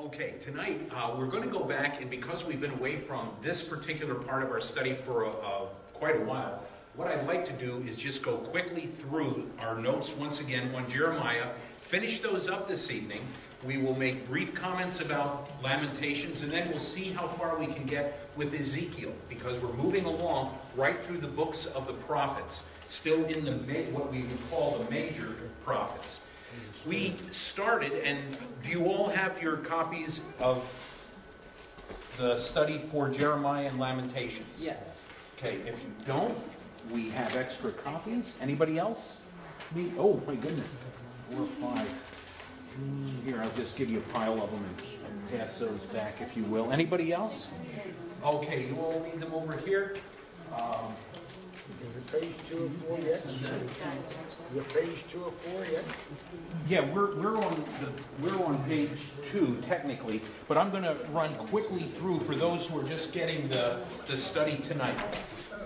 Okay, tonight we're going to go back, and because we've been away from this particular part of our study for quite a while, what I'd like to do is just go quickly through our notes once again on Jeremiah, finish those up this evening. We will make brief comments about Lamentations, and then we'll see how far we can get with Ezekiel, because we're moving along right through the books of the prophets, still in the what we would call the major prophets. We started, and do you all have your copies of the study for Jeremiah and Lamentations? Yes. Okay, if you don't, we have extra copies. Anybody else? Me? Oh, my goodness. 4 or 5. Here, I'll just give you a pile of them and pass those back, if you will. Anybody else? Okay, you all need them over here. Is it page 2 or 4 yet? You're page 2 or 4 yet? Yeah, we're on page 2 technically, but I'm going to run quickly through for those who are just getting the study tonight.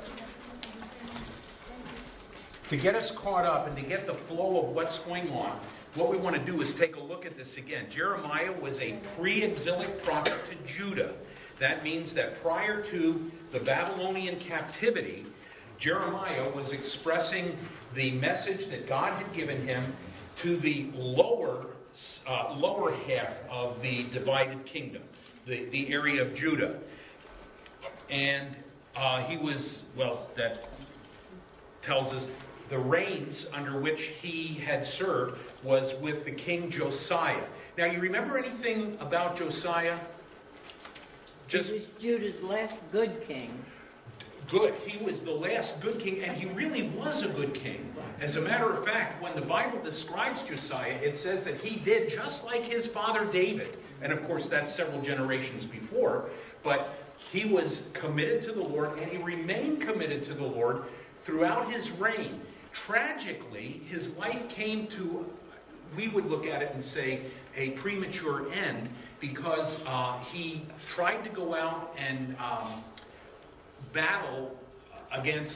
To get us caught up and to get the flow of what's going on, what we want to do is take a look at this again. Jeremiah was a pre-exilic prophet to Judah. That means that prior to the Babylonian captivity, Jeremiah was expressing the message that God had given him to the lower half of the divided kingdom, the area of Judah. And he was, that tells us the reigns under which he had served was with the king Josiah. Now, you remember anything about Josiah? He was Judah's last good king. Good. He was the last good king, and he really was a good king. As a matter of fact, when the Bible describes Josiah, it says that he did just like his father David. And of course, that's several generations before. But he was committed to the Lord, and he remained committed to the Lord throughout his reign. Tragically, his life came to, we would look at it and say, a premature end, because he tried to go out and battle against,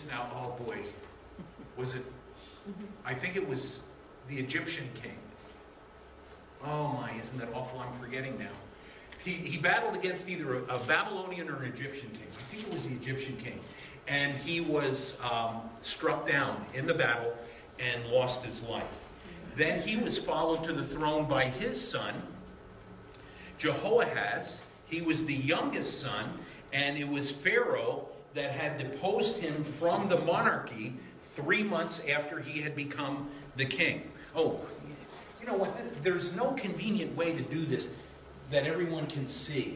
I think it was the Egyptian king. Oh my, isn't that awful? I'm forgetting now. He battled against either a Babylonian or an Egyptian king. I think it was the Egyptian king. And he was struck down in the battle and lost his life. Then he was followed to the throne by his son, Jehoahaz. He was the youngest son, and it was Pharaoh that had deposed him from the monarchy 3 months after he had become the king. Oh, you know what? There's no convenient way to do this that everyone can see.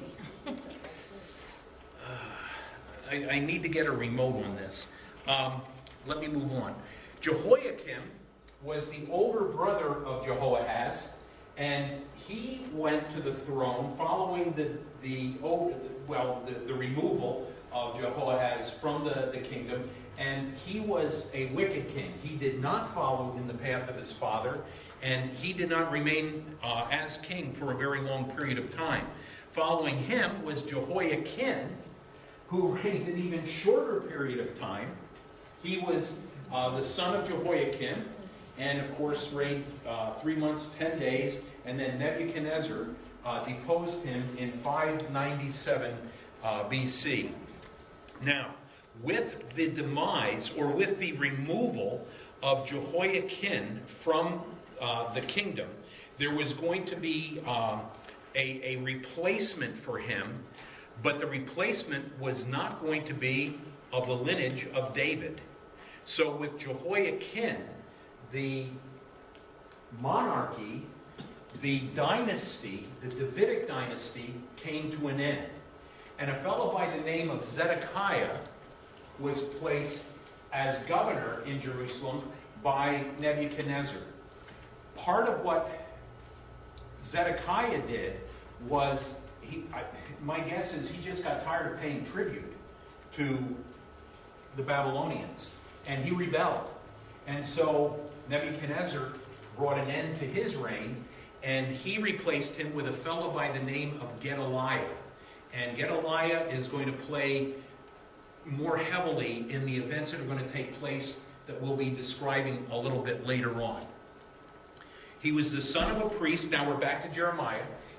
I need to get a remote on this. Let me move on. Jehoiakim was the older brother of Jehoahaz, and he went to the throne following the removal of Jehoahaz from the kingdom, and he was a wicked king. He did not follow in the path of his father, and he did not remain as king for a very long period of time. Following him was Jehoiakim, who reigned an even shorter period of time. He was the son of Jehoiakim, and of course reigned 3 months, 10 days, and then Nebuchadnezzar deposed him in 597 BC. Now, with the demise, or with the removal of Jehoiakim from the kingdom, there was going to be a replacement for him, but the replacement was not going to be of the lineage of David. So with Jehoiakim, the monarchy, the dynasty, the Davidic dynasty, came to an end. And a fellow by the name of Zedekiah was placed as governor in Jerusalem by Nebuchadnezzar. Part of what Zedekiah did was, my guess is he just got tired of paying tribute to the Babylonians, and he rebelled. And so Nebuchadnezzar brought an end to his reign, and he replaced him with a fellow by the name of Gedaliah. And Gedaliah is going to play more heavily in the events that are going to take place that we'll be describing a little bit later on. He was the son of a priest. Now we're back to Jeremiah.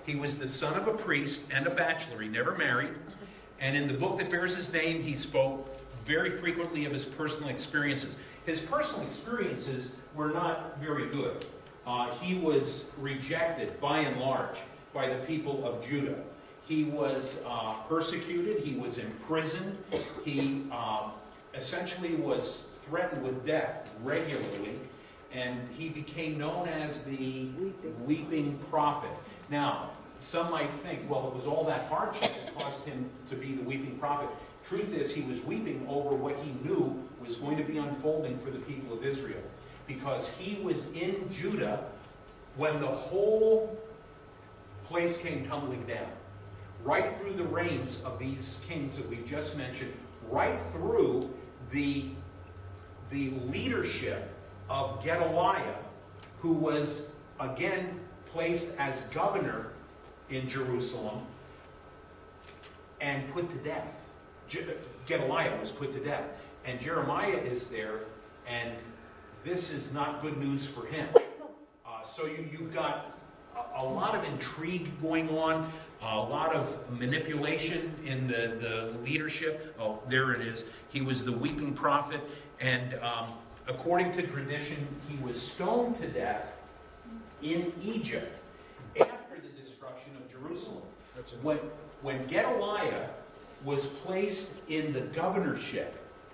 He was the son of a priest and a bachelor. He never married. And in the book that bears his name, he spoke very frequently of his personal experiences. His personal experiences were not very good. He was rejected, by and large, by the people of Judah. He was persecuted. He was imprisoned. He essentially was threatened with death regularly. And he became known as the weeping prophet. Now, some might think, well, it was all that hardship that caused him to be the weeping prophet. Truth is, he was weeping over what he knew was going to be unfolding for the people of Israel. Because he was in Judah when the whole place came tumbling down. Right through the reigns of these kings that we've just mentioned, right through the leadership of Gedaliah, who was again placed as governor in Jerusalem and put to death. Gedaliah was put to death. And Jeremiah is there, and this is not good news for him. So you've got a lot of intrigue going on, a lot of manipulation in the leadership. Oh, there it is. He was the weeping prophet, and according to tradition, he was stoned to death in Egypt after the destruction of Jerusalem. When Gedaliah was placed in the governorship,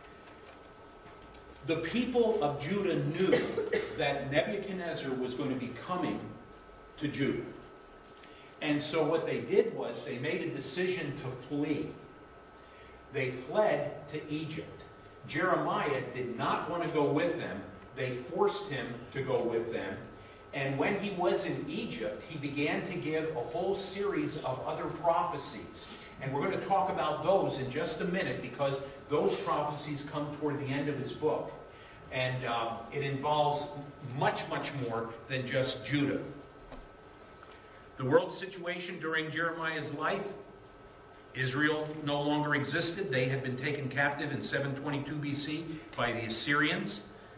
the people of Judah knew that Nebuchadnezzar was going to be coming to Judah. And so what they did was they made a decision to flee. They fled to Egypt. Jeremiah did not want to go with them. They forced him to go with them. And when he was in Egypt, he began to give a whole series of other prophecies. And we're going to talk about those in just a minute, because those prophecies come toward the end of his book. And it involves much, much more than just Judah. The world situation during Jeremiah's life, Israel no longer existed. They had been taken captive in 722 BC by the Assyrians.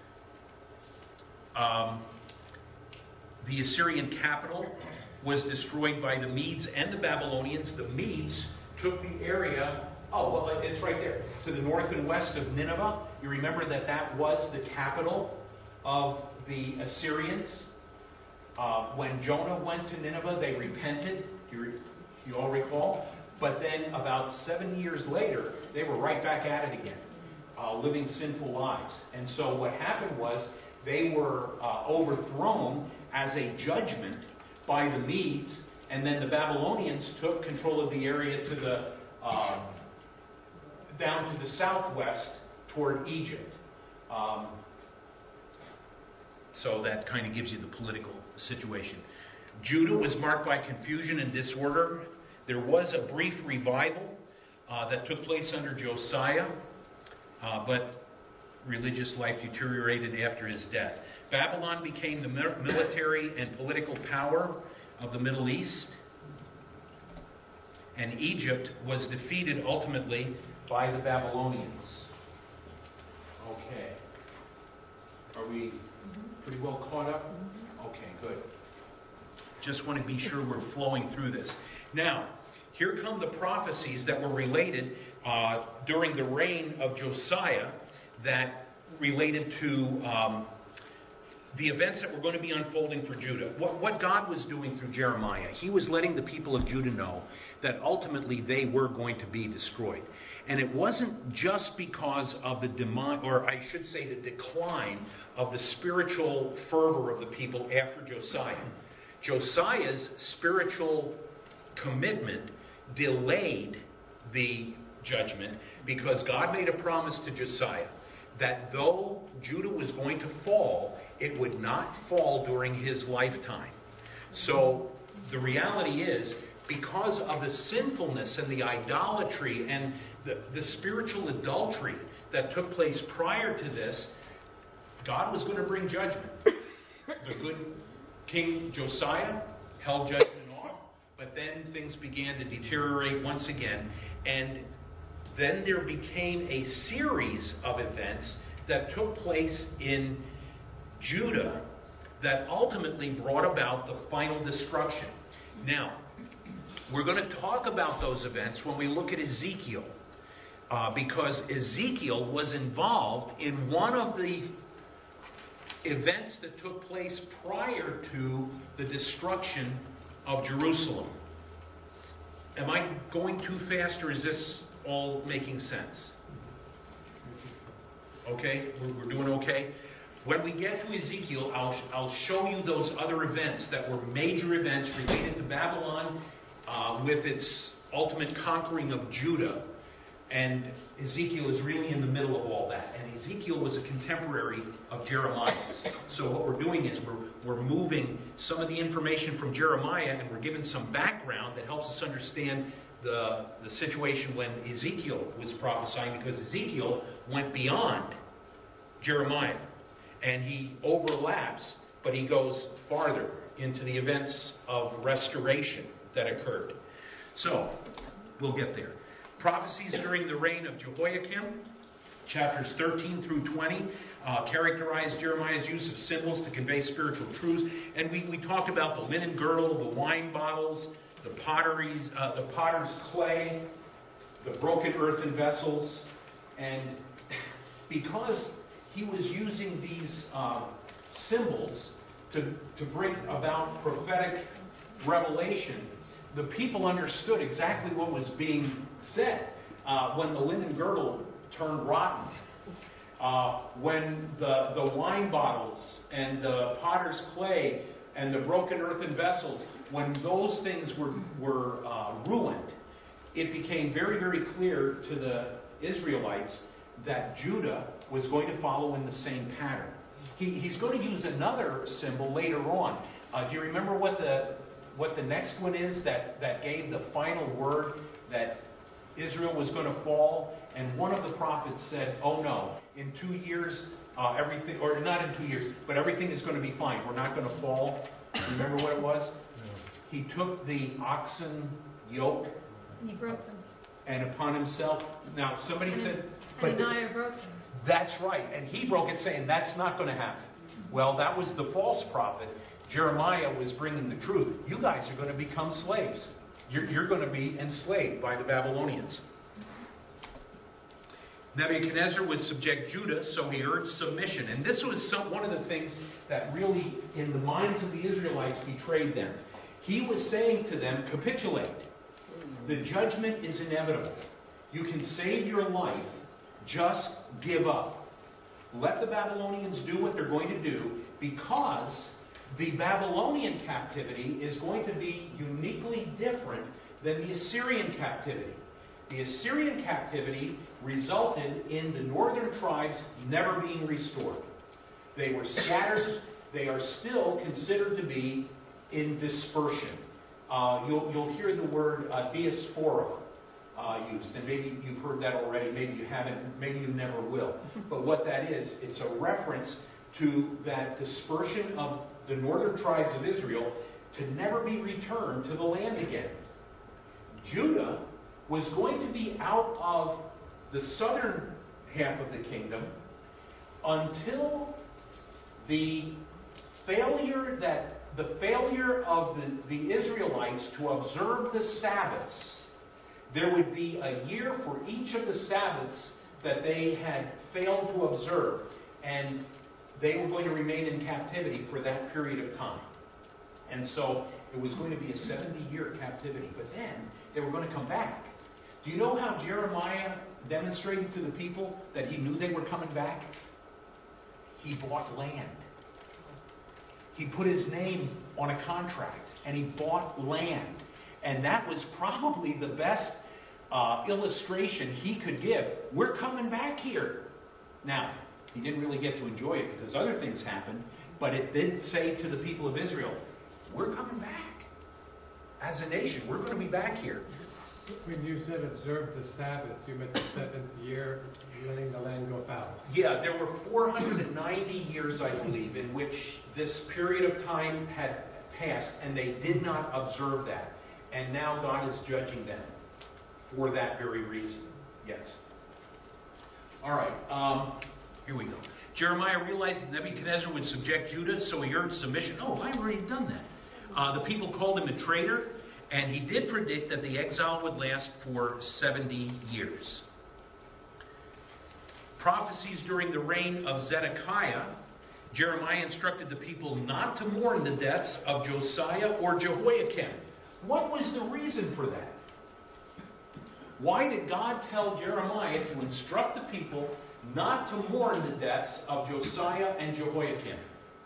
The Assyrian capital was destroyed by the Medes and the Babylonians. The Medes took the area, it's right there, to the north and west of Nineveh. You remember that was the capital of the Assyrians. When Jonah went to Nineveh, they repented. You all recall? But then about 7 years later, they were right back at it again, living sinful lives. And so what happened was they were overthrown as a judgment by the Medes, and then the Babylonians took control of the area to the down to the southwest toward Egypt. So that kind of gives you the political situation. Judah was marked by confusion and disorder. There was a brief revival that took place under Josiah, but religious life deteriorated after his death. Babylon became the military and political power of the Middle East, and Egypt was defeated ultimately by the Babylonians. Okay. Are we pretty well caught up? Okay, good. Just want to be sure we're flowing through this. Now, here come the prophecies that were related during the reign of Josiah that related to the events that were going to be unfolding for Judah. What God was doing through Jeremiah, he was letting the people of Judah know that ultimately they were going to be destroyed. And it wasn't just because of the the decline of the spiritual fervor of the people after Josiah. Josiah's spiritual commitment delayed the judgment because God made a promise to Josiah that though Judah was going to fall, it would not fall during his lifetime. So the reality is, because of the sinfulness and the idolatry and the spiritual adultery that took place prior to this, God was going to bring judgment. The good King Josiah held judgment off, but then things began to deteriorate once again, and then there became a series of events that took place in Judah that ultimately brought about the final destruction. Now, We're going to talk about those events when we look at Ezekiel, because Ezekiel was involved in one of the events that took place prior to the destruction of Jerusalem. Am I going too fast, or is this all making sense? Okay, we're doing okay. When we get to Ezekiel, I'll show you those other events that were major events related to Babylon with its ultimate conquering of Judah. And Ezekiel is really in the middle of all that. And Ezekiel was a contemporary of Jeremiah's. So what we're doing is we're moving some of the information from Jeremiah, and we're giving some background that helps us understand the situation when Ezekiel was prophesying, because Ezekiel went beyond Jeremiah. And he overlaps, but he goes farther into the events of restoration that occurred. So, we'll get there. Prophecies during the reign of Jehoiakim, chapters 13 through 20, characterize Jeremiah's use of symbols to convey spiritual truths. And we talked about the linen girdle, the wine bottles, the potter's clay, the broken earthen vessels. And because he was using these symbols to bring about prophetic revelation, the people understood exactly what was being said. When the linen girdle turned rotten, when the wine bottles and the potter's clay and the broken earthen vessels, when those things were ruined, it became very, very clear to the Israelites that Judah was going to follow in the same pattern. He's going to use another symbol later on. Do you remember what the next one is that gave the final word that Israel was going to fall? And one of the prophets said, "Oh no, in 2 years, everything, or not in 2 years, but everything is going to be fine. We're not going to fall." Remember what it was? No. He took the oxen yoke and he broke them. And upon himself. Now somebody said, "But Ananiah broke them." That's right, and he broke it, saying that's not going to happen. Well, that was the false prophet. Jeremiah was bringing the truth. You guys are going to become slaves. You're going to be enslaved by the Babylonians. Nebuchadnezzar would subject Judah, so he urged submission. And this was one of the things that really, in the minds of the Israelites, betrayed them. He was saying to them, capitulate. The judgment is inevitable. You can save your life. Just give up. Let the Babylonians do what they're going to do, because the Babylonian captivity is going to be uniquely different than the Assyrian captivity. The Assyrian captivity resulted in the northern tribes never being restored. They were scattered. They are still considered to be in dispersion. You'll hear the word diaspora used, and maybe you've heard that already, maybe you haven't, maybe you never will. But what that is, it's a reference to that dispersion of the northern tribes of Israel to never be returned to the land again. Judah was going to be out of the southern half of the kingdom until the failure of the Israelites to observe the Sabbaths. There would be a year for each of the Sabbaths that they had failed to observe, and they were going to remain in captivity for that period of time. And so it was going to be a 70-year captivity. But then they were going to come back. Do you know how Jeremiah demonstrated to the people that he knew they were coming back? He bought land. He put his name on a contract, and he bought land. And that was probably the best illustration he could give. We're coming back here. Now, he didn't really get to enjoy it because other things happened, but it did say to the people of Israel, we're coming back. As a nation, we're going to be back here. When you said observe the Sabbath, you meant the seventh year, letting the land go fallow. Yeah, there were 490 years, I believe, in which this period of time had passed, and they did not observe that. And now God is judging them for that very reason. Yes. All right. Here we go. Jeremiah realized that Nebuchadnezzar would subject Judah, so he urged submission. Oh, I've already done that. The people called him a traitor, And he did predict that the exile would last for 70 years. Prophecies during the reign of Zedekiah, Jeremiah instructed the people not to mourn the deaths of Josiah or Jehoiakim. What was the reason for that? Why did God tell Jeremiah to instruct the people not to mourn the deaths of Josiah and Jehoiakim?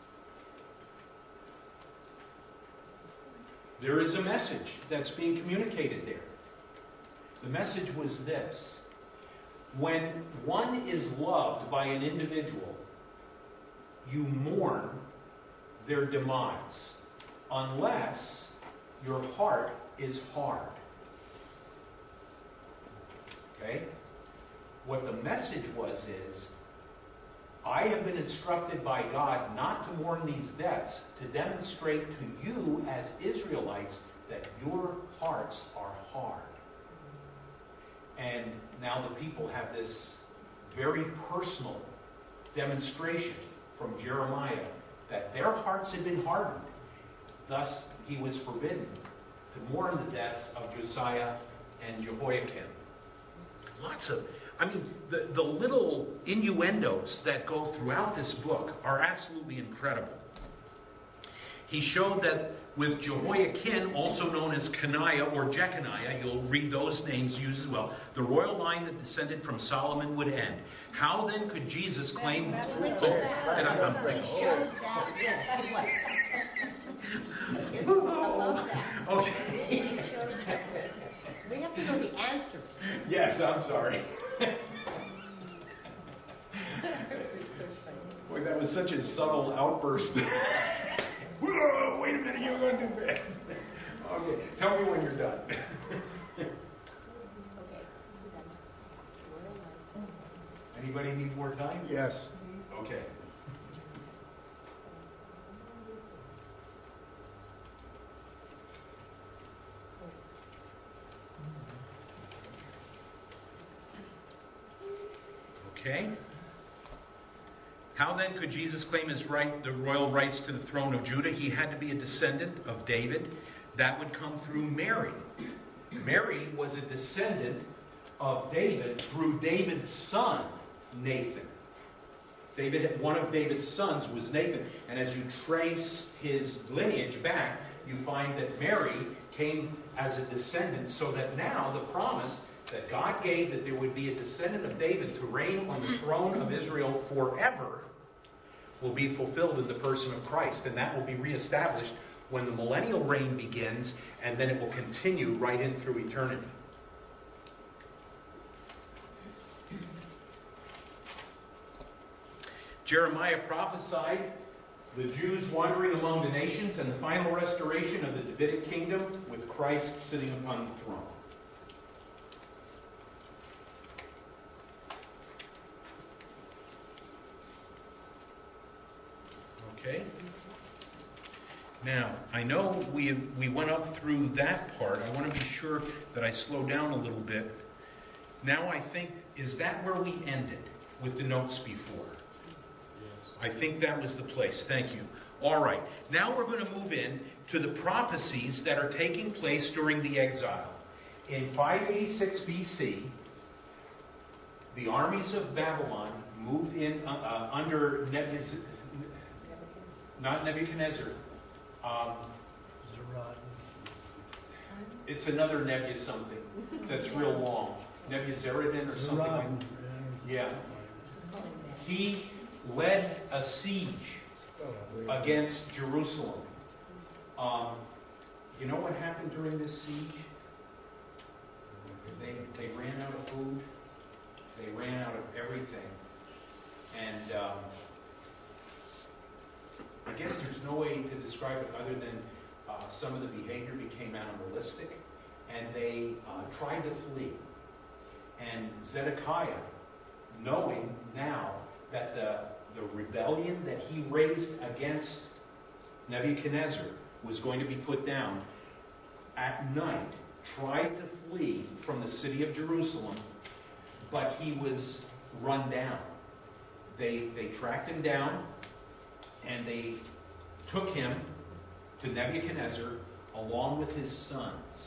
There is a message that's being communicated there. The message was this: when one is loved by an individual, you mourn their demise, unless your heart is hard. Okay? What the message was is, I have been instructed by God not to mourn these deaths, to demonstrate to you as Israelites that your hearts are hard. And now the people have this very personal demonstration from Jeremiah that their hearts had been hardened. Thus, he was forbidden to mourn the deaths of Josiah and Jehoiakim. The little innuendos that go throughout this book are absolutely incredible. He showed that with Jehoiakim, also known as Coniah or Jeconiah, you'll read those names used as well, the royal line that descended from Solomon would end. How then could Jesus claim... Okay. We have to know the answer. Yes, I'm sorry. Boy, that was such a subtle outburst. Whoa, wait a minute, you're going too fast. Okay, tell me when you're done. Anybody need more time? Yes. Okay. Okay. How then could Jesus claim his right, the royal rights to the throne of Judah? He had to be a descendant of David. That would come through Mary. Mary was a descendant of David through David's son, Nathan. One of David's sons was Nathan. And as you trace his lineage back, you find that Mary came as a descendant, so that now the promise that God gave that there would be a descendant of David to reign on the throne of Israel forever will be fulfilled in the person of Christ. And that will be reestablished when the millennial reign begins, and then it will continue right in through eternity. Jeremiah prophesied the Jews wandering among the nations and the final restoration of the Davidic kingdom with Christ sitting upon the throne. Okay. Now, I know we went up through that part. I want to be sure that I slow down a little bit. Now I think, is that where we ended with the notes before? Yes. I think that was the place. Thank you. All right. Now we're going to move in to the prophecies that are taking place during the exile. In 586 BC, the armies of Babylon moved in under not Nebuchadnezzar. It's another Nebu something that's real long. Nebuzaradan or something like that. Yeah. He led a siege against Jerusalem. You know what happened during this siege? They ran out of food. They ran out of everything. And I guess there's no way to describe it other than some of the behavior became animalistic, and they tried to flee. And Zedekiah, knowing now that the rebellion that he raised against Nebuchadnezzar was going to be put down, at night tried to flee from the city of Jerusalem, but he was run down. They tracked him down, and they took him to Nebuchadnezzar along with his sons.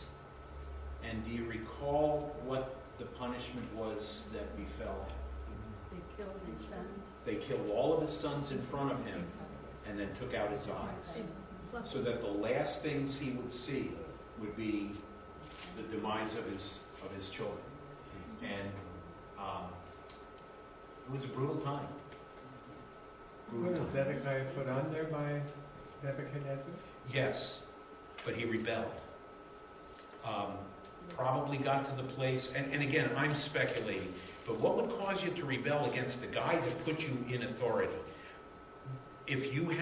And do you recall what the punishment was that befell him? They killed his son. They killed all of his sons in front of him and then took out his eyes, so that the last things he would see would be the demise of his children. And it was a brutal time. Was Zedekiah put on there by Nebuchadnezzar? Yes, but he rebelled. Probably got to the place, and again, I'm speculating, but what would cause you to rebel against the guy that put you in authority? If you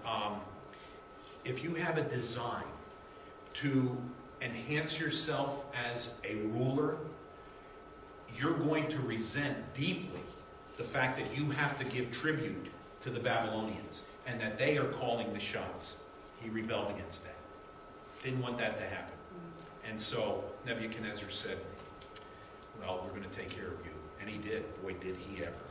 have a design to enhance yourself as a ruler, you're going to resent deeply the fact that you have to give tribute to the Babylonians and that they are calling the shots. He rebelled against that. Didn't want that to happen. And so Nebuchadnezzar said, well, we're going to take care of you. And he did. Boy, did he ever.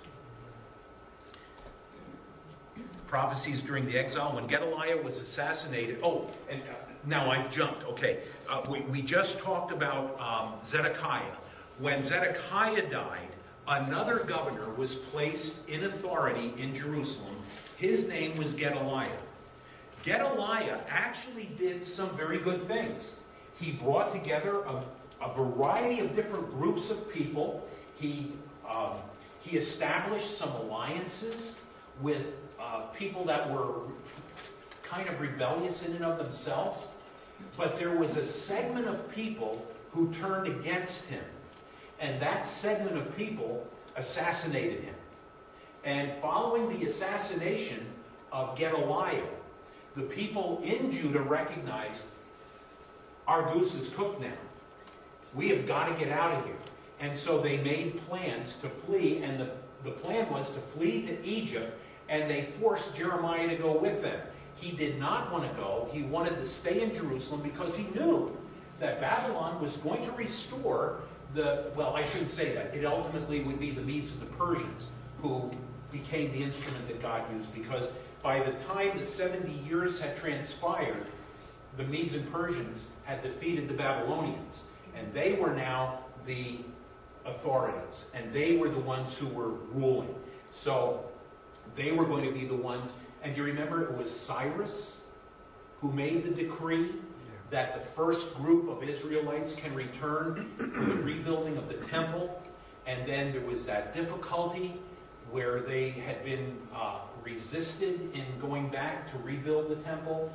Prophecies during the exile, when Gedaliah was assassinated. Oh, and now I've jumped. Okay. We just talked about Zedekiah. When Zedekiah died, another governor was placed in authority in Jerusalem. His name was Gedaliah. Gedaliah actually did some very good things. He brought together a variety of different groups of people. He established some alliances with people that were kind of rebellious in and of themselves. But there was a segment of people who turned against him. And that segment of people assassinated him. And following the assassination of Gedaliah, the people in Judah recognized, our goose is cooked now. We have got to get out of here. And so they made plans to flee, and the plan was to flee to Egypt, and they forced Jeremiah to go with them. He did not want to go. He wanted to stay in Jerusalem because he knew that Babylon was going to restore I shouldn't say that. It ultimately would be the Medes and the Persians who became the instrument that God used, because by the time the 70 years had transpired, the Medes and Persians had defeated the Babylonians, and they were now the authorities, and they were the ones who were ruling. So they were going to be the ones, and you remember it was Cyrus who made the decree that the first group of Israelites can return for the rebuilding of the temple, and then there was that difficulty where they had been resisted in going back to rebuild the temple,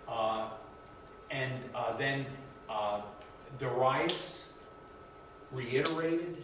then Darius reiterated.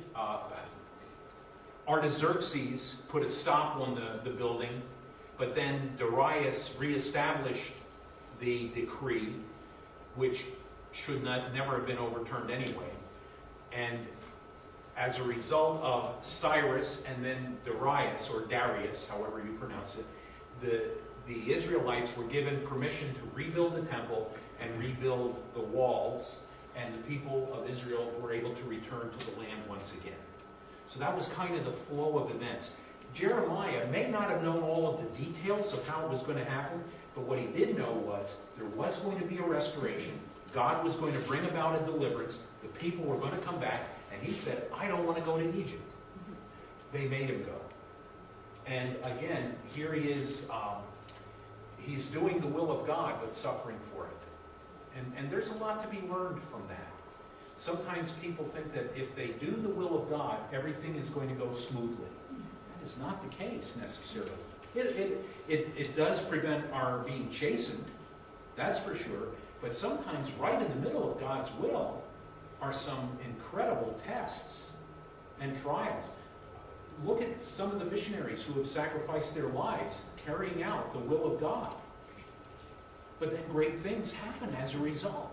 Artaxerxes put a stop on the building, but then Darius reestablished the decree, which should never have been overturned anyway. And as a result of Cyrus and then Darius, or Darius, however you pronounce it, the Israelites were given permission to rebuild the temple and rebuild the walls, and the people of Israel were able to return to the land once again. So that was kind of the flow of events. Jeremiah may not have known all of the details of how it was going to happen, but what he did know was there was going to be a restoration. God was going to bring about a deliverance. The people were going to come back. And he said, I don't want to go to Egypt. They made him go. And again, here he is. He's doing the will of God, but suffering for it. And there's a lot to be learned from that. Sometimes people think that if they do the will of God, everything is going to go smoothly. That is not the case necessarily. It does prevent our being chastened, that's for sure. But sometimes right in the middle of God's will are some incredible tests and trials. Look at some of the missionaries who have sacrificed their lives carrying out the will of God. But then great things happen as a result.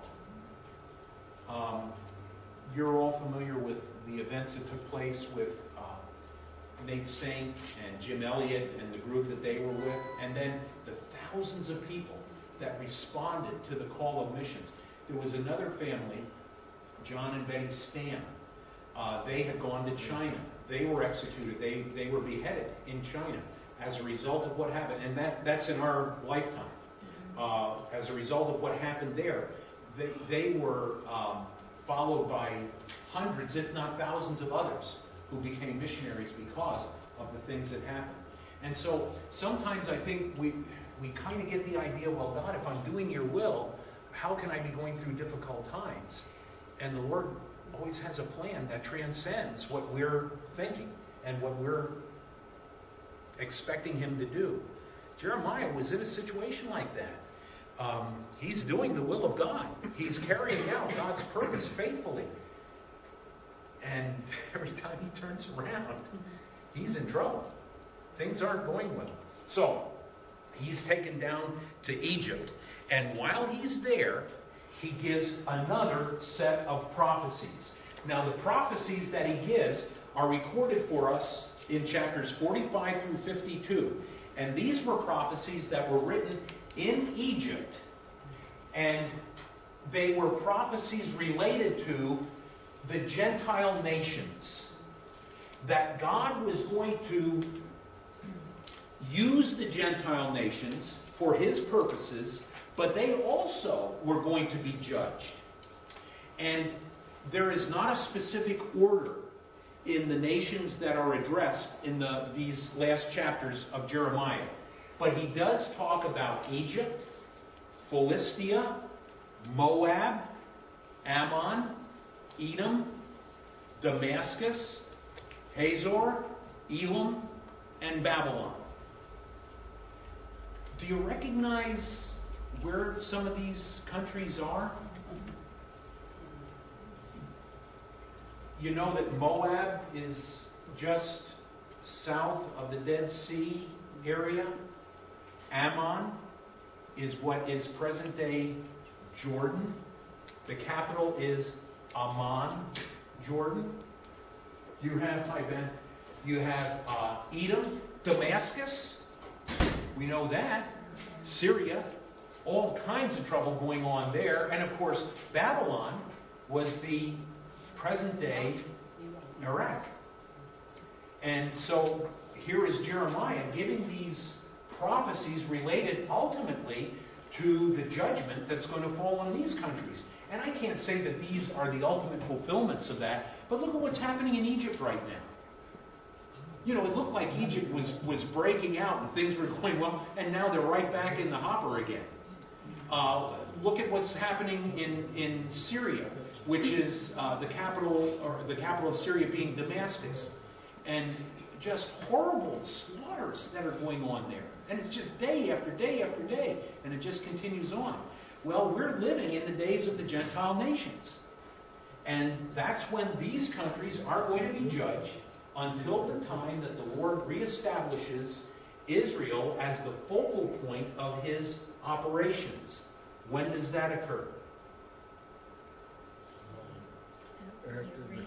You're all familiar with the events that took place with Nate Saint and Jim Elliott and the group that they were with, and then the thousands of people that responded to the call of missions. There was another family, John and Betty Stam. They had gone to China. They were executed. They were beheaded in China as a result of what happened. And that's in our lifetime. As a result of what happened there, they were followed by hundreds, if not thousands of others who became missionaries because of the things that happened. And so sometimes I think we kind of get the idea, well, God, if I'm doing your will, how can I be going through difficult times? And the Lord always has a plan that transcends what we're thinking and what we're expecting Him to do. Jeremiah was in a situation like that. He's doing the will of God. He's carrying out God's purpose faithfully. And every time he turns around, he's in trouble. Things aren't going well. So, he's taken down to Egypt. And while he's there, he gives another set of prophecies. Now, the prophecies that he gives are recorded for us in chapters 45 through 52. And these were prophecies that were written in Egypt. And they were prophecies related to the Gentile nations. That God was going to use the Gentile nations for His purposes, but they also were going to be judged. And there is not a specific order in the nations that are addressed in these last chapters of Jeremiah. But he does talk about Egypt, Philistia, Moab, Ammon, Edom, Damascus, Hazor, Elam, and Babylon. Do you recognize where some of these countries are? You know that Moab is just south of the Dead Sea area. Ammon is what is present-day Jordan. The capital is Amman, Jordan. You have, hi Ben, you have Edom, Damascus. We know that. Syria, all kinds of trouble going on there. And of course, Babylon was the present-day Iraq. And so here is Jeremiah giving these prophecies related ultimately to the judgment that's going to fall on these countries. And I can't say that these are the ultimate fulfillments of that, but look at what's happening in Egypt right now. You know, it looked like Egypt was breaking out and things were going well, and now they're right back in the hopper again. Look at what's happening in Syria, which is the capital of Syria being Damascus, and just horrible slaughters that are going on there. And it's just day after day after day, and it just continues on. Well, we're living in the days of the Gentile nations. And that's when these countries are going to be judged until the time that the Lord reestablishes Israel as the focal point of His operations. When does that occur? After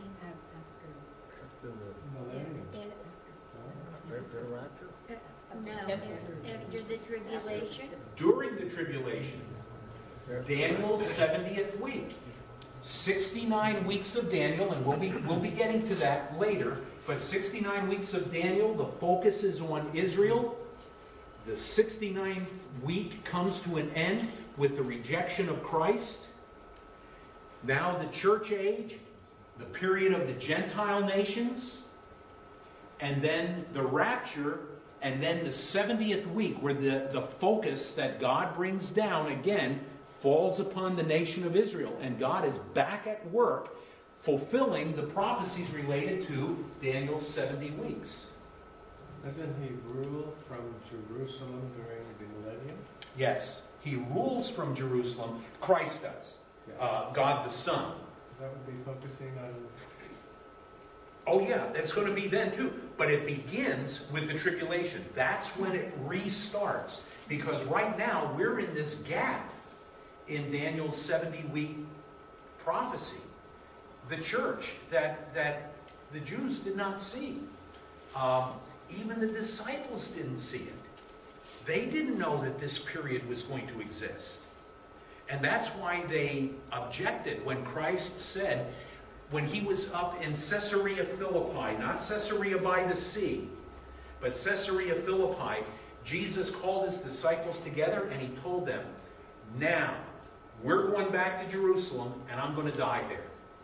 the rapture? No, after the tribulation. During the tribulation. Daniel's 70th week. 69 weeks of Daniel, and we'll be getting to that later, but 69 weeks of Daniel, the focus is on Israel. The 69th week comes to an end with the rejection of Christ. Now the church age, the period of the Gentile nations, and then the rapture, and then the 70th week where the focus that God brings down again falls upon the nation of Israel. And God is back at work fulfilling the prophecies related to Daniel's 70 weeks. Doesn't He rule from Jerusalem during the millennium? Yes, He rules from Jerusalem. Christ does. God the Son. That would be focusing on... Oh yeah, that's going to be then too. But it begins with the tribulation. That's when it restarts. Because right now we're in this gap in Daniel's 70-week prophecy. The church that the Jews did not see. Even the disciples didn't see it. They didn't know that this period was going to exist. And that's why they objected when Christ said, when He was up in Caesarea Philippi, not Caesarea by the sea, but Caesarea Philippi, Jesus called His disciples together and He told them, now, we're going back to Jerusalem and I'm going to die there.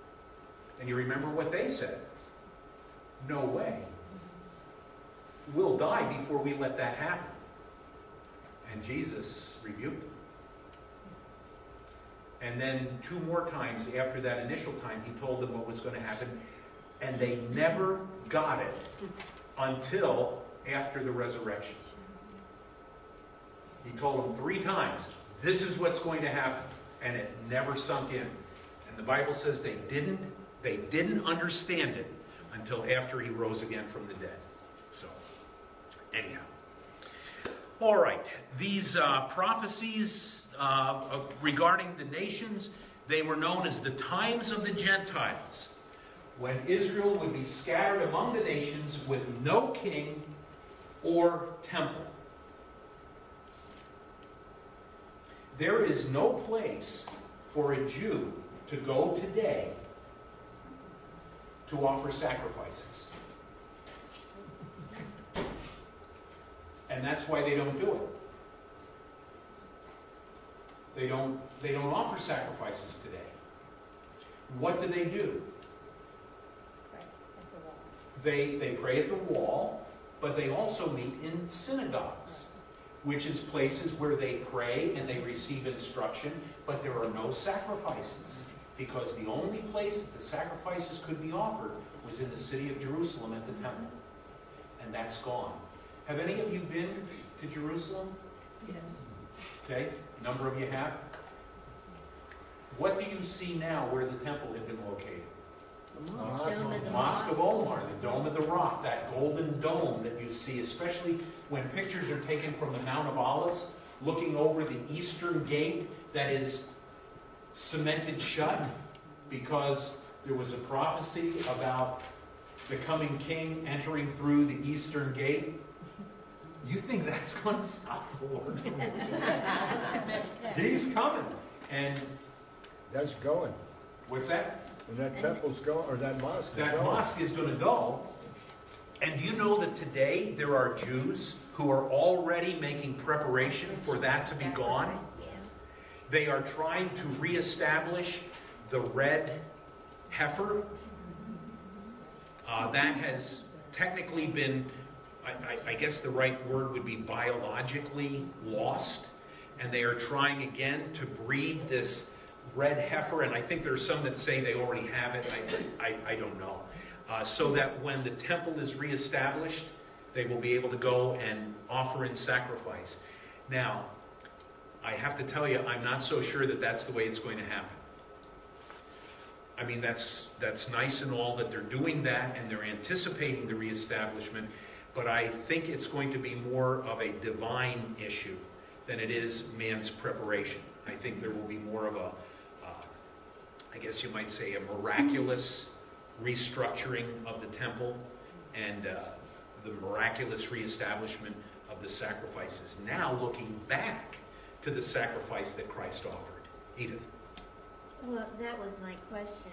And you remember what they said? No way. We'll die before we let that happen. And Jesus rebuked them. And then 2 more times after that initial time, he told them what was going to happen. And they never got it until after the resurrection. He told them 3 times, this is what's going to happen. And it never sunk in. And the Bible says they didn't understand it until after he rose again from the dead. So, anyhow. All right. These prophecies regarding the nations, they were known as the times of the Gentiles, when Israel would be scattered among the nations with no king or temple. There is no place for a Jew to go today to offer sacrifices. And that's why they don't do it. They don't offer sacrifices today. What do? They pray at the wall, but they also meet in synagogues, which is places where they pray and they receive instruction, but there are no sacrifices, because the only place that the sacrifices could be offered was in the city of Jerusalem at the temple. And that's gone. Have any of you been to Jerusalem? Yes. Okay, a number of you have. What do you see now where the temple had been located? The mosque. Mosque of Omar, the Dome of the Rock, that golden dome that you see, especially when pictures are taken from the Mount of Olives, looking over the eastern gate that is cemented shut because there was a prophecy about the coming king entering through the eastern gate. You think that's going to stop the Lord? He's coming. And That's going. what's that? And that temple's going, or that mosque is That going. mosque is going to go. And do you know that today there are Jews who are already making preparation for that to be gone? They are trying to reestablish the red heifer. That has technically been, I guess the right word would be biologically lost. And they are trying again to breed this red heifer. And I think there's some that say they already have it. I don't know. So that when the temple is reestablished, they will be able to go and offer in sacrifice. Now, I have to tell you, I'm not so sure that that's the way it's going to happen. I mean, that's nice and all that they're doing that and they're anticipating the reestablishment, but I think it's going to be more of a divine issue than it is man's preparation. I think there will be more of a, I guess you might say, a miraculous restructuring of the temple and the miraculous reestablishment of the sacrifices. Now looking back to the sacrifice that Christ offered. Edith. Well, that was my question.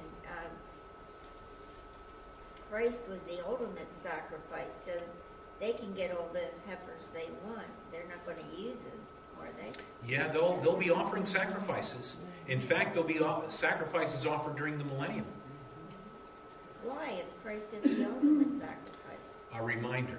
Christ was the ultimate sacrifice, so they can get all the heifers they want. They're not going to use them, are they? Yeah, they'll be offering sacrifices. In fact, there'll be sacrifices offered during the millennium. Why, if Christ is the ultimate sacrifice? A reminder.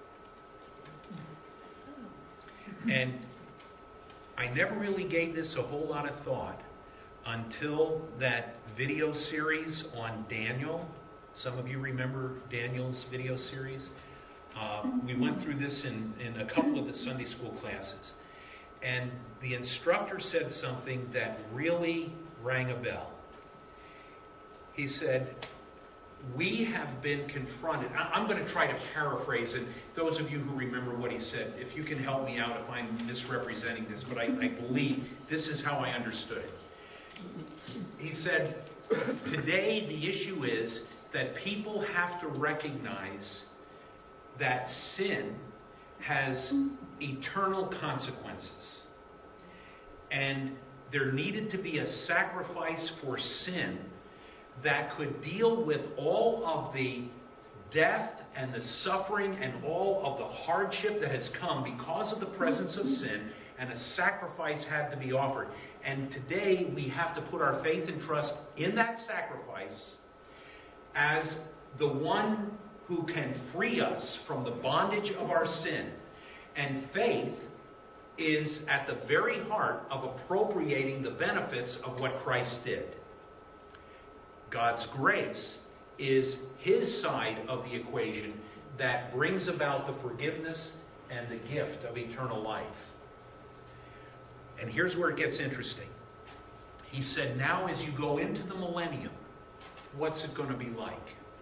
And I never really gave this a whole lot of thought until that video series on Daniel. Some of you remember Daniel's video series. We went through this in a couple of the Sunday school classes. And the instructor said something that really rang a bell. He said, we have been confronted. I'm going to try to paraphrase it. Those of you who remember what he said, if you can help me out if I'm misrepresenting this, but I believe this is how I understood it. He said, today the issue is that people have to recognize that sin has eternal consequences. And there needed to be a sacrifice for sin that could deal with all of the death and the suffering and all of the hardship that has come because of the presence of sin, and a sacrifice had to be offered. And today we have to put our faith and trust in that sacrifice as the one who can free us from the bondage of our sin. And faith is at the very heart of appropriating the benefits of what Christ did. God's grace is His side of the equation that brings about the forgiveness and the gift of eternal life. And here's where it gets interesting. He said, now as you go into the millennium, what's it going to be like?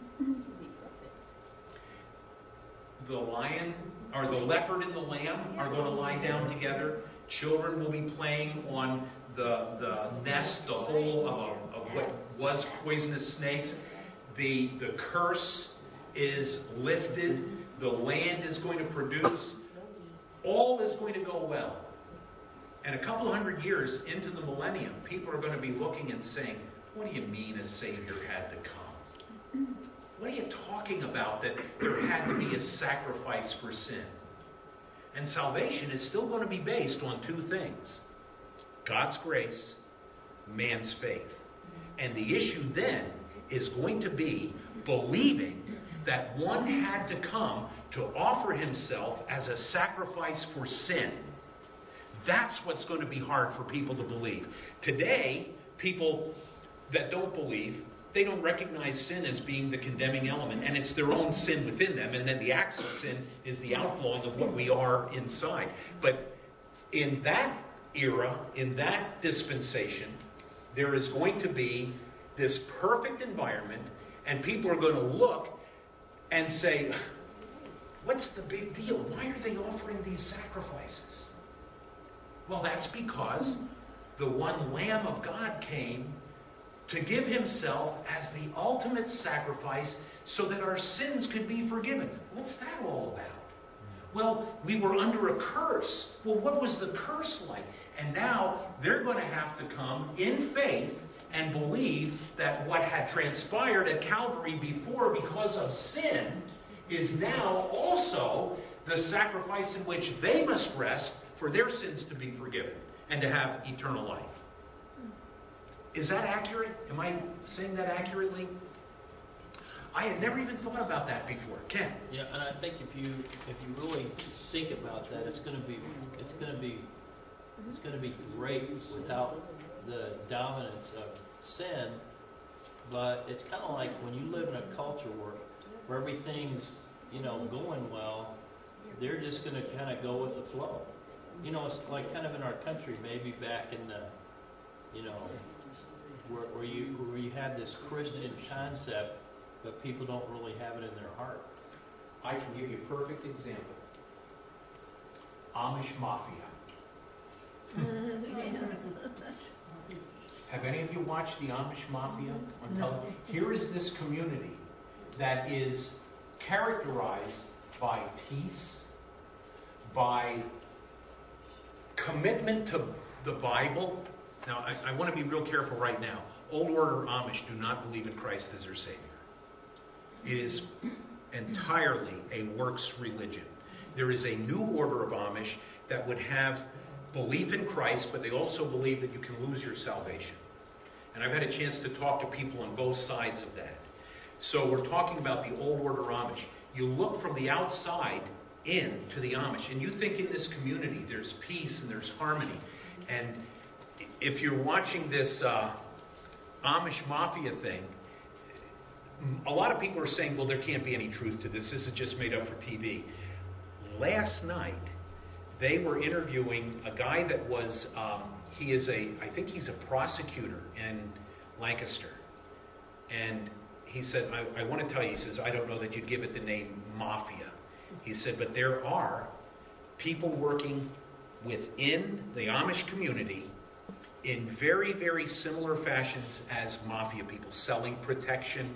The lion, or the leopard and the lamb are going to lie down together. Children will be playing on the nest, the hole of what was poisonous snakes. The curse is lifted. The land is going to produce. All is going to go well. And a couple of hundred years into the millennium, people are going to be looking and saying, what do you mean a Savior had to come? What are you talking about that there had to be a sacrifice for sin? And salvation is still going to be based on two things. God's grace, man's faith. And the issue then is going to be believing that one had to come to offer himself as a sacrifice for sin. That's what's going to be hard for people to believe. Today, people that don't believe, they don't recognize sin as being the condemning element, and it's their own sin within them, and then the acts of sin is the outflowing of what we are inside. But in that era, in that dispensation, there is going to be this perfect environment, and people are going to look and say, what's the big deal? Why are they offering these sacrifices? Well, that's because the one Lamb of God came to give Himself as the ultimate sacrifice so that our sins could be forgiven. What's that all about? Well, we were under a curse. Well, what was the curse like? And now they're going to have to come in faith and believe that what had transpired at Calvary before because of sin is now also the sacrifice in which they must rest for their sins to be forgiven and to have eternal life. Is that accurate? Am I saying that accurately? I had never even thought about that before. Ken? Yeah, and I think if you really think about that, it's going to be great without the dominance of sin. But it's kind of like when you live in a culture where everything's going well, they're just going to kind of go with the flow. It's like kind of in our country, maybe back in the where you have this Christian concept, but people don't really have it in their heart. I can give you a perfect example. Amish Mafia. Have any of you watched the Amish Mafia on television? Here is this community that is characterized by peace, by commitment to the Bible. Now, I want to be real careful right now. Old Order Amish do not believe in Christ as their Savior. It is entirely a works religion. There is a new order of Amish that would have belief in Christ, but they also believe that you can lose your salvation. And I've had a chance to talk to people on both sides of that. So we're talking about the Old Order Amish. You look from the outside in to the Amish, and you think in this community there's peace and there's harmony. And if you're watching this Amish Mafia thing, a lot of people are saying, well, there can't be any truth to this. This is just made up for TV. Last night, they were interviewing a guy that was, I think he's a prosecutor in Lancaster. And he said, I want to tell you, he says, I don't know that you'd give it the name Mafia. He said, but there are people working within the Amish community in very, very similar fashions as Mafia people, selling protection,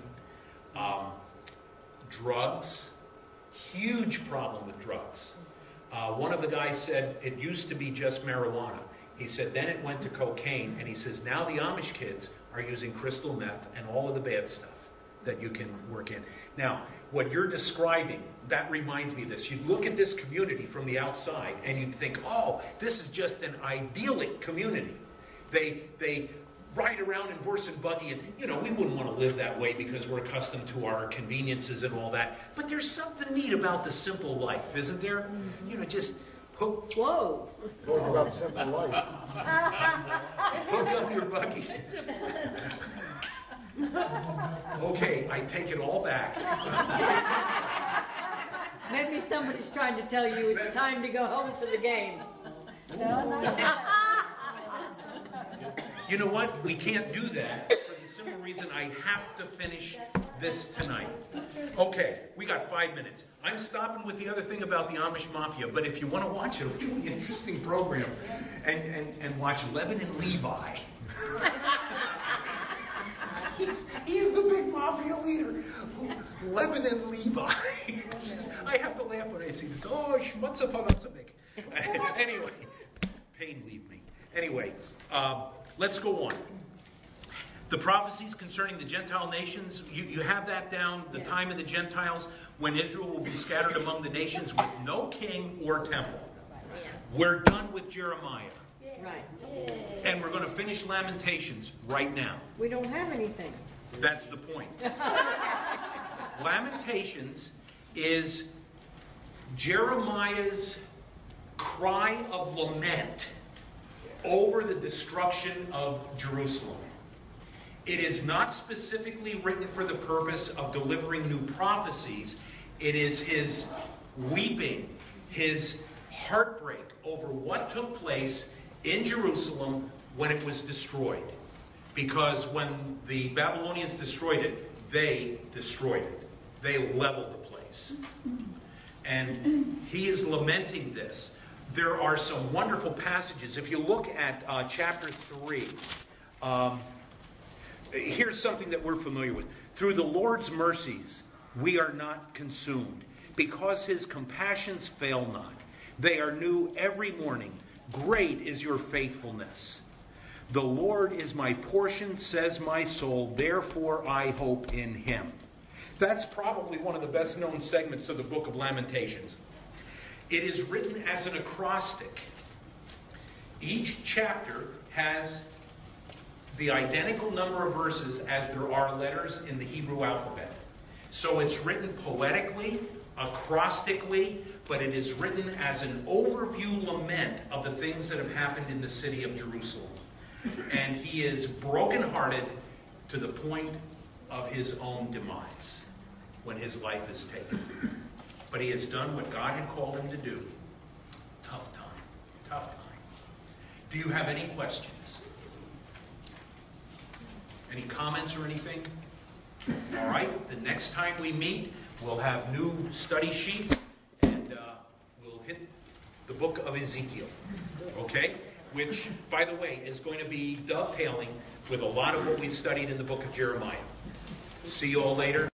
drugs, huge problem with drugs. One of the guys said it used to be just marijuana. He said then it went to cocaine, and he says now the Amish kids are using crystal meth and all of the bad stuff that you can work in. Now, what you're describing, that reminds me of this. You look at this community from the outside, and you think, oh, this is just an idyllic community. They ride around in horse and buggy, and we wouldn't want to live that way because we're accustomed to our conveniences and all that. But there's something neat about the simple life, isn't there? Just hook Whoa. Talk about simple life. up your buggy. Okay, I take it all back. Maybe somebody's trying to tell you it's time to go home for the game. You know what? We can't do that for the simple reason I have to finish this tonight. Okay, we got 5 minutes. I'm stopping with the other thing about the Amish Mafia, but if you want to watch a really interesting program and watch Levin and Levi. He's the big mafia leader. Levin and Levi. I have to laugh when I see this. Oh, schmutza panasabik. Anyway, pain leave me. Anyway, let's go on. The prophecies concerning the Gentile nations, you have that down, the time of the Gentiles, when Israel will be scattered among the nations with no king or temple. We're done with Jeremiah. Right. And we're going to finish Lamentations right now. We don't have anything. That's the point. Lamentations is Jeremiah's cry of lament over the destruction of Jerusalem. It is not specifically written for the purpose of delivering new prophecies. It is his weeping, his heartbreak over what took place in Jerusalem when it was destroyed. Because when the Babylonians destroyed it, they destroyed it. They leveled the place. And he is lamenting this. There are some wonderful passages. If you look at chapter 3, here's something that we're familiar with. Through the Lord's mercies, we are not consumed, because his compassions fail not. They are new every morning. Great is your faithfulness. The Lord is my portion, says my soul, therefore I hope in him. That's probably one of the best known segments of the book of Lamentations. It is written as an acrostic. Each chapter has the identical number of verses as there are letters in the Hebrew alphabet. So it's written poetically, acrostically, but it is written as an overview lament of the things that have happened in the city of Jerusalem. And he is brokenhearted to the point of his own demise when his life is taken. But he has done what God had called him to do. Tough time. Tough time. Do you have any questions? Any comments or anything? All right. The next time we meet, we'll have new study sheets, and we'll hit the book of Ezekiel. Okay? Which, by the way, is going to be dovetailing with a lot of what we studied in the book of Jeremiah. See you all later.